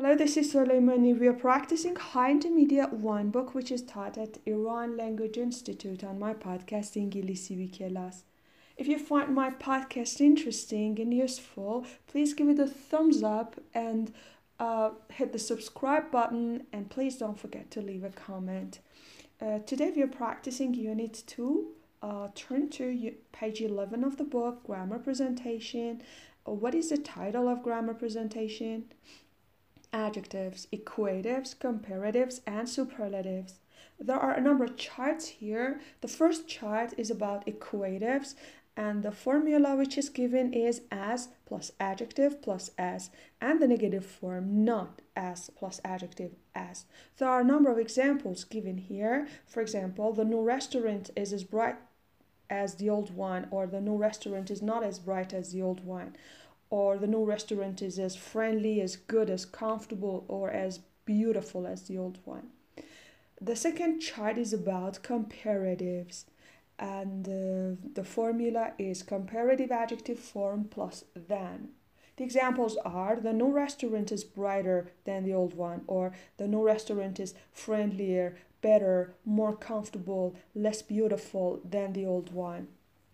Hello, this is Soleimani. We are practicing High Intermediate 1 book, which is taught at Iran Language Institute on my podcast, İngilizce bir Kelas. If you find my podcast interesting and useful, please give it a thumbs up and hit the subscribe button, and please don't forget to leave a comment. Today we are practicing Unit 2. Turn to page 11 of the book, Grammar Presentation. What is the title of Grammar Presentation? Adjectives, equatives, comparatives, and superlatives. There are a number of charts here. The first chart is about equatives, and the formula which is given is as plus adjective plus as, and the negative form not as plus adjective as. There are a number of examples given here. For example, the new restaurant is as bright as the old one, or the new restaurant is not as bright as the old one, or the new restaurant is as friendly, as good, as comfortable, or as beautiful as the old one. The second chart is about comparatives, and the formula is comparative adjective form plus than. The examples are: the new restaurant is brighter than the old one, or the new restaurant is friendlier, better, more comfortable, less beautiful than the old one.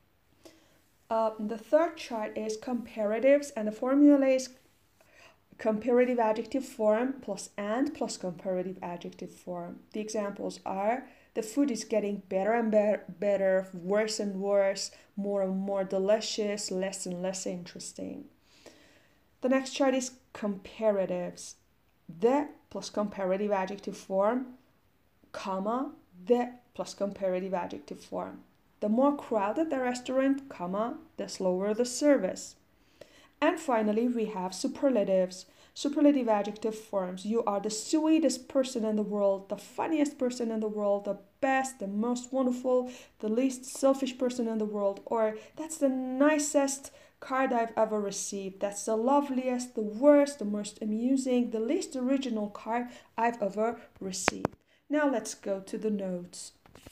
The third chart is comparatives, and the formula is comparative adjective form plus and plus comparative adjective form. The examples are: the food is getting better and better, worse and worse, more and more delicious, less and less interesting. The next chart is comparatives. The plus comparative adjective form, comma, the plus comparative adjective form. The more crowded the restaurant, comma, the slower the service. And finally, we have superlatives. Superlative adjective forms: you are the sweetest person in the world, the funniest person in the world, the best, the most wonderful, the least selfish person in the world, or that's the nicest card I've ever received, that's the loveliest, the worst, the most amusing, the least original card I've ever received. Now let's go to the notes.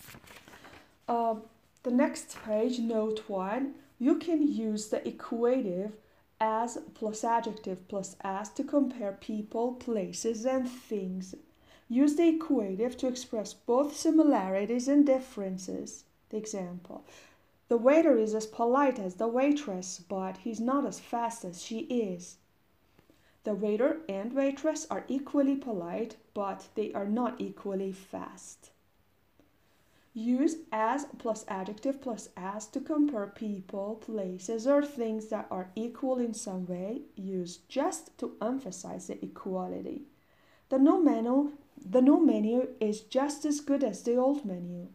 The next page, note 1, you can use the equative as plus adjective plus as to compare people, places, and things. Use the equative to express both similarities and differences. The example: the waiter is as polite as the waitress, but he's not as fast as she is. The waiter and waitress are equally polite, but they are not equally fast. Use as plus adjective plus as to compare people, places, or things that are equal in some way. Use just to emphasize the equality. The new menu is just as good as the old menu.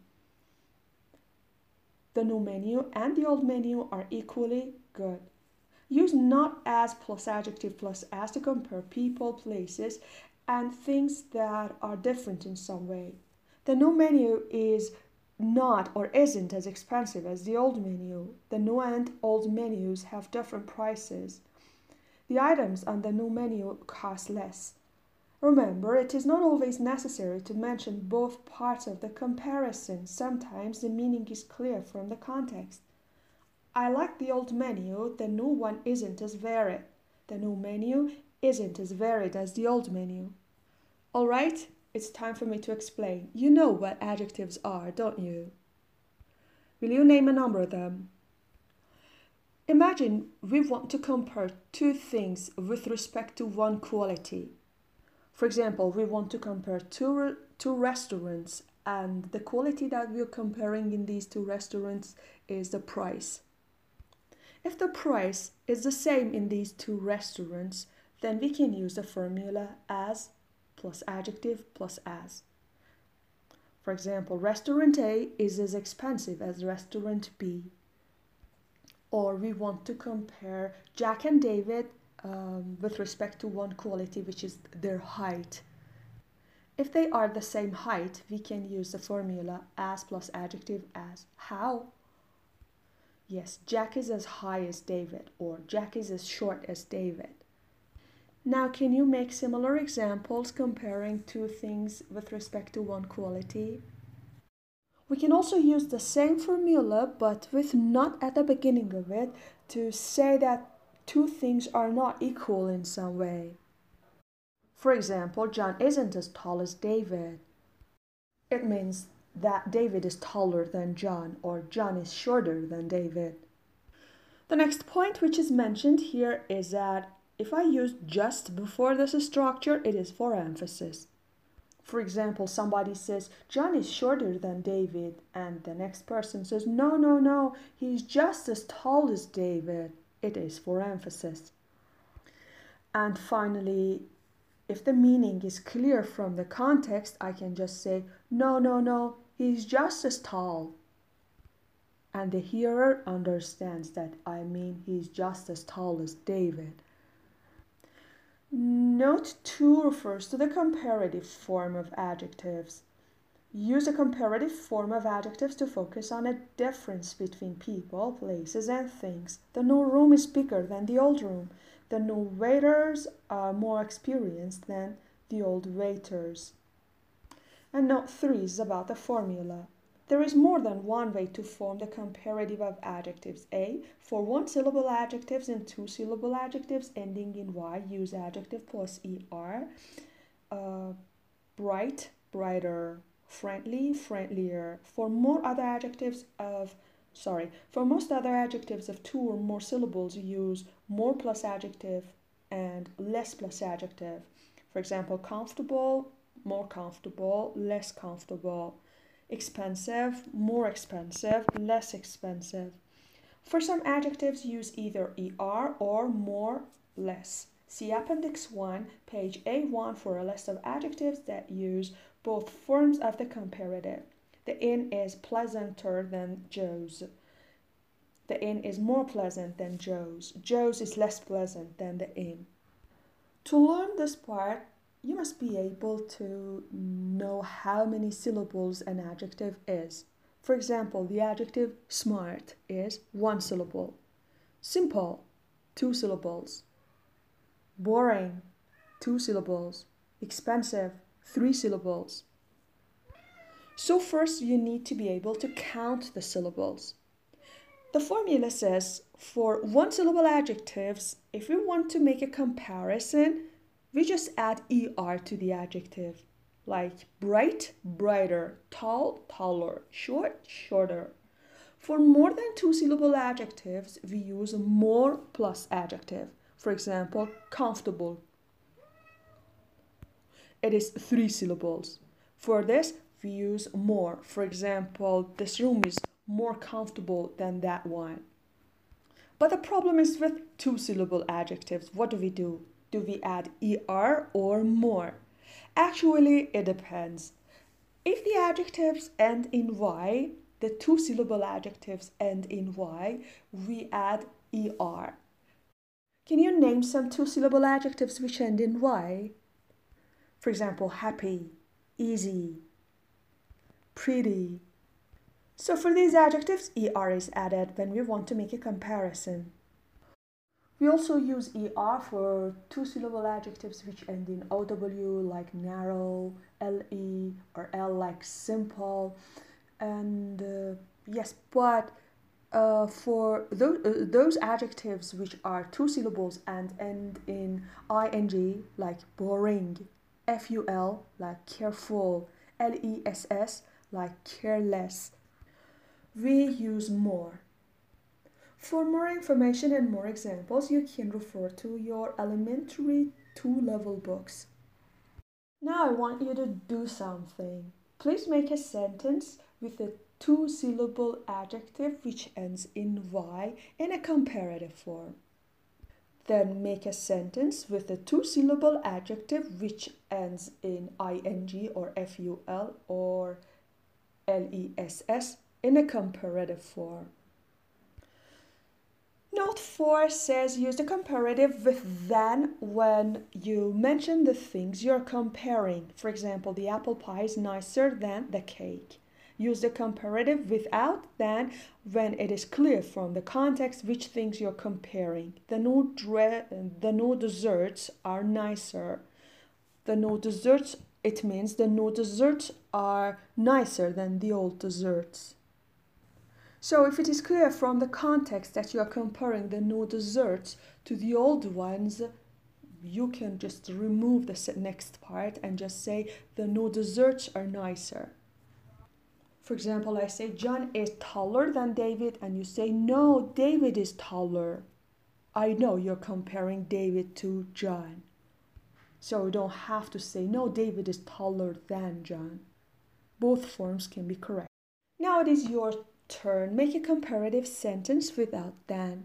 The new menu and the old menu are equally good. Use not as plus adjective plus as to compare people, places, and things that are different in some way. The new menu is not or isn't as expensive as the old menu. The new and old menus have different prices. The items on the new menu cost less. Remember, it is not always necessary to mention both parts of the comparison. Sometimes the meaning is clear from the context. I like the old menu, the new one isn't as varied. The new menu isn't as varied as the old menu. Alright? It's time for me to explain. You know what adjectives are, don't you? Will you name a number of them? Imagine we want to compare two things with respect to one quality. For example, we want to compare two restaurants, and the quality that we're comparing in these two restaurants is the price. If the price is the same in these two restaurants, then we can use the formula as plus adjective plus as. For example, restaurant A is as expensive as restaurant B. Or we want to compare Jack and David with respect to one quality, which is their height. If they are the same height, we can use the formula as plus adjective as. How? Yes, Jack is as high as David, or Jack is as short as David. Now, can you make similar examples comparing two things with respect to one quality? We can also use the same formula, but with not at the beginning of it, to say that two things are not equal in some way. For example, John isn't as tall as David. It means that David is taller than John, or John is shorter than David. The next point which is mentioned here is that if I use just before this structure, it is for emphasis. For example, somebody says, John is shorter than David, and the next person says, no, he's just as tall as David. It is for emphasis. And finally, if the meaning is clear from the context, I can just say, no, he's just as tall. And the hearer understands that I mean he's just as tall as David. Note 2 refers to the comparative form of adjectives. Use a comparative form of adjectives to focus on a difference between people, places, and things. The new room is bigger than the old room. The new waiters are more experienced than the old waiters. And note 3 is about the formula. There is more than one way to form the comparative of adjectives. A. For one-syllable adjectives and two-syllable adjectives ending in Y, use adjective plus ER. Bright, brighter. Friendly, friendlier. For most other adjectives of two or more syllables, use more plus adjective and less plus adjective. For example, comfortable, more comfortable, less comfortable. Expensive, more expensive, less expensive. For some adjectives, use either ER or more, less. See Appendix 1, page A1 for a list of adjectives that use both forms of the comparative. The inn is pleasanter than Joe's. The inn is more pleasant than Joe's. Joe's is less pleasant than the inn. To learn this part, you must be able to know how many syllables an adjective is. For example, the adjective smart is one syllable. Simple, two syllables. Boring, two syllables. Expensive, three syllables. So first you need to be able to count the syllables. The formula says for one-syllable adjectives, if we want to make a comparison, we just add ER to the adjective, like bright, brighter, tall, taller, short, shorter. For more than two-syllable adjectives, we use more plus adjective. For example, comfortable. It is three syllables. For this, we use more. For example, this room is more comfortable than that one. But the problem is with two-syllable adjectives. What do? Do we add ER or more? Actually, it depends. If the adjectives end in Y, the two-syllable adjectives end in Y, we add ER. Can you name some two-syllable adjectives which end in Y? For example, happy, easy, pretty. So for these adjectives, ER is added when we want to make a comparison. We also use ER for two-syllable adjectives which end in OW, like narrow, LE, or L like simple. And yes, but for those adjectives which are two syllables and end in ing, like boring, FUL, like careful, LESS, like careless, we use more. For more information and more examples, you can refer to your elementary 2-level books. Now I want you to do something. Please make a sentence with a two-syllable adjective which ends in Y in a comparative form. Then make a sentence with a two-syllable adjective which ends in ing or FUL or LESS in a comparative form. Note 4 says use the comparative with than when you mention the things you're comparing. For example, the apple pie is nicer than the cake. Use the comparative without than when it is clear from the context which things you're comparing. The new desserts are nicer. The new desserts, it means the new desserts are nicer than the old desserts. So if it is clear from the context that you are comparing the new desserts to the old ones, you can just remove the next part and just say the no desserts are nicer. For example, I say John is taller than David, and you say no, David is taller. I know you're comparing David to John. So you don't have to say no, David is taller than John. Both forms can be correct. Now it is your turn. Make a comparative sentence without than.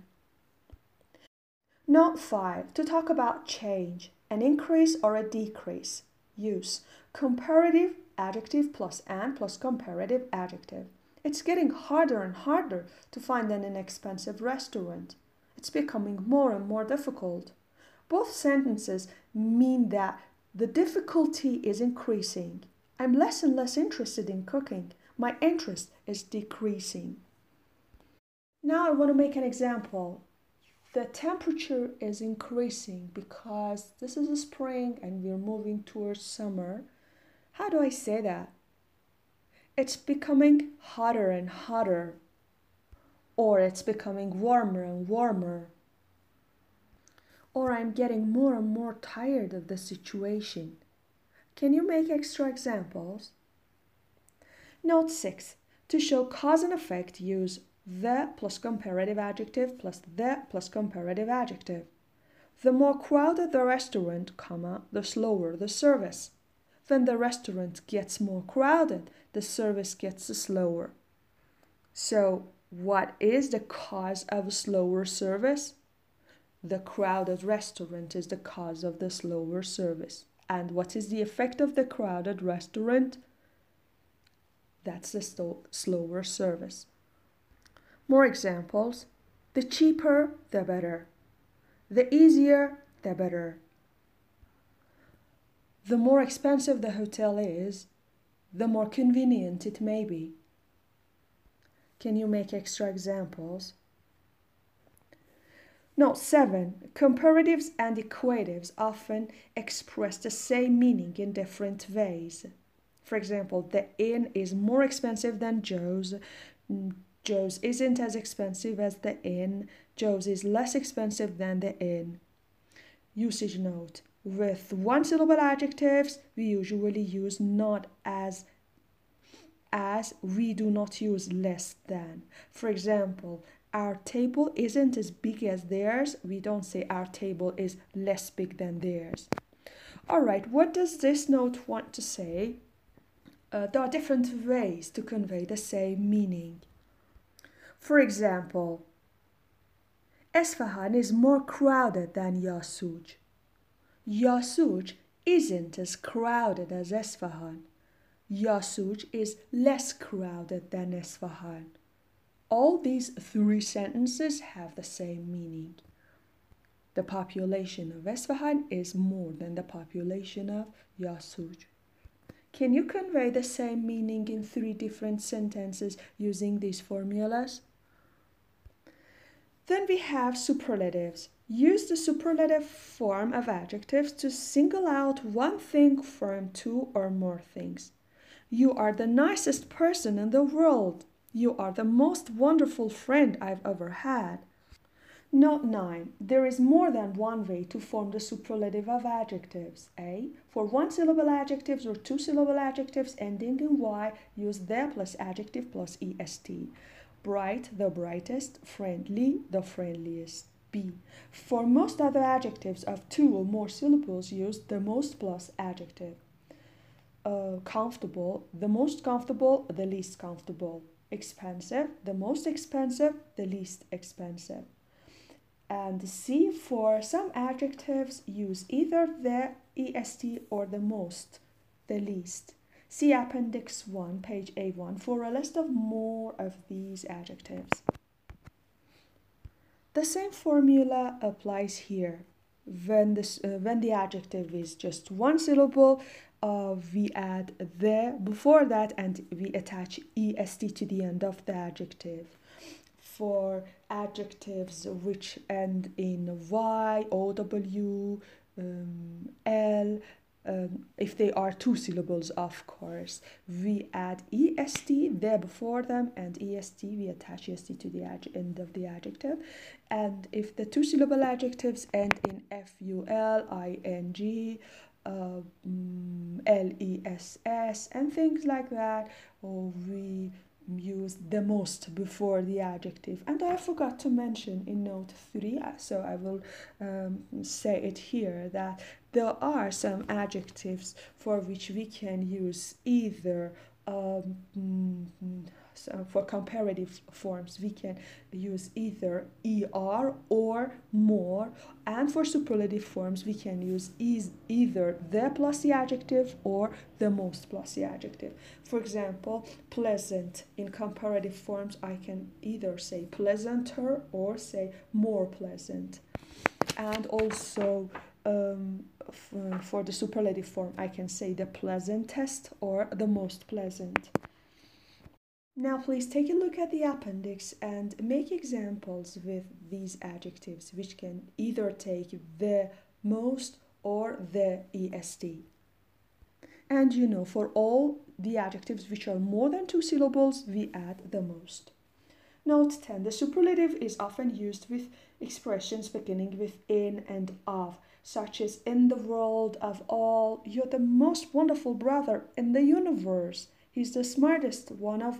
Note 5. To talk about change, an increase or a decrease. Use comparative adjective plus and plus comparative adjective. It's getting harder and harder to find an inexpensive restaurant. It's becoming more and more difficult. Both sentences mean that the difficulty is increasing. I'm less and less interested in cooking. My interest is decreasing. Now I want to make an example. The temperature is increasing because this is a spring and we're moving towards summer. How do I say that? It's becoming hotter and hotter. Or it's becoming warmer and warmer. Or I'm getting more and more tired of the situation. Can you make extra examples? Note 6. To show cause and effect, use the plus comparative adjective plus the plus comparative adjective. The more crowded the restaurant, the slower the service. When the restaurant gets more crowded, the service gets slower. So, what is the cause of a slower service? The crowded restaurant is the cause of the slower service. And what is the effect of the crowded restaurant? That's the slower service. More examples. The cheaper, the better. The easier, the better. The more expensive the hotel is, the more convenient it may be. Can you make extra examples? Note 7. Comparatives and equatives often express the same meaning in different ways. For example, the inn is more expensive than Joe's. Joe's isn't as expensive as the inn. Joe's is less expensive than the inn. Usage note. With one-syllable adjectives, we usually use not as we do not use less than. For example, our table isn't as big as theirs. We don't say our table is less big than theirs. All right, what does this note want to say? There are different ways to convey the same meaning. For example, Esfahan is more crowded than Yasuj. Yasuj isn't as crowded as Esfahan. Yasuj is less crowded than Esfahan. All these three sentences have the same meaning. The population of Esfahan is more than the population of Yasuj. Can you convey the same meaning in three different sentences using these formulas? Then we have superlatives. Use the superlative form of adjectives to single out one thing from two or more things. You are the nicest person in the world. You are the most wonderful friend I've ever had. Note 9. There is more than one way to form the superlative of adjectives. A. For one-syllable adjectives or two-syllable adjectives ending in Y, use the plus adjective plus est. Bright, the brightest. Friendly, the friendliest. B. For most other adjectives of two or more syllables, use the most plus adjective. Comfortable, the most comfortable, the least comfortable. Expensive, the most expensive, the least expensive. And C, for some adjectives, use either the est or the most, the least. See Appendix 1, page A1 for a list of more of these adjectives. The same formula applies here. When the adjective is just one syllable, we add the before that and we attach est to the end of the adjective. For adjectives which end in Y, OW, L, if they are two syllables, of course, we add est there before them, and est, we attach est to the end of the adjective. And if the two syllable adjectives end in ful, ing, less, and things like that, or we use the most before the adjective. And I forgot to mention in note 3, so I will say it here, that there are some adjectives for which we can use either so for comparative forms we can use either er or more, and for superlative forms we can use either the plus the adjective or the most plus the adjective. For example, pleasant, in comparative forms I can either say pleasanter or say more pleasant. And also for the superlative form I can say the pleasantest or the most pleasant. Now please take a look at the appendix and make examples with these adjectives, which can either take the, most, or the est. And for all the adjectives which are more than two syllables, we add the most. Note 10. The superlative is often used with expressions beginning with in and of, such as in the world of all, you're the most wonderful brother in the universe. He's the smartest one of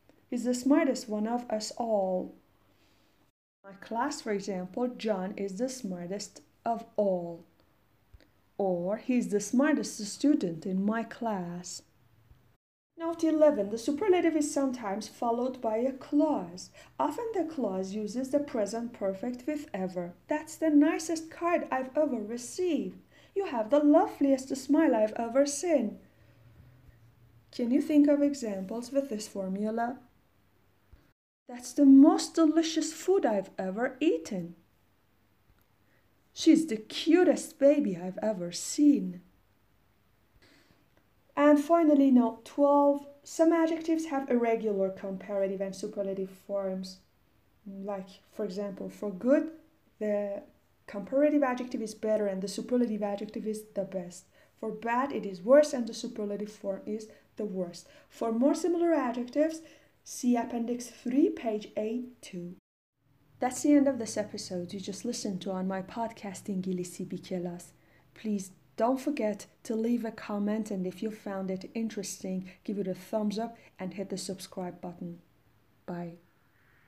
us all. My class, for example, John is the smartest of all. Or he's the smartest student in my class. Note 11. The superlative is sometimes followed by a clause. Often the clause uses the present perfect with ever. That's the nicest card I've ever received. You have the loveliest smile I've ever seen. Can you think of examples with this formula? That's the most delicious food I've ever eaten. She's the cutest baby I've ever seen. And finally, note 12. Some adjectives have irregular comparative and superlative forms. Like, for example, for good, the comparative adjective is better and the superlative adjective is the best. For bad, it is worse and the superlative form is the worst. For more similar adjectives, see Appendix 3, page 82. That's the end of this episode you just listened to on my podcast İngilizce bir kelas. Please don't forget to leave a comment, and if you found it interesting, give it a thumbs up and hit the subscribe button. Bye.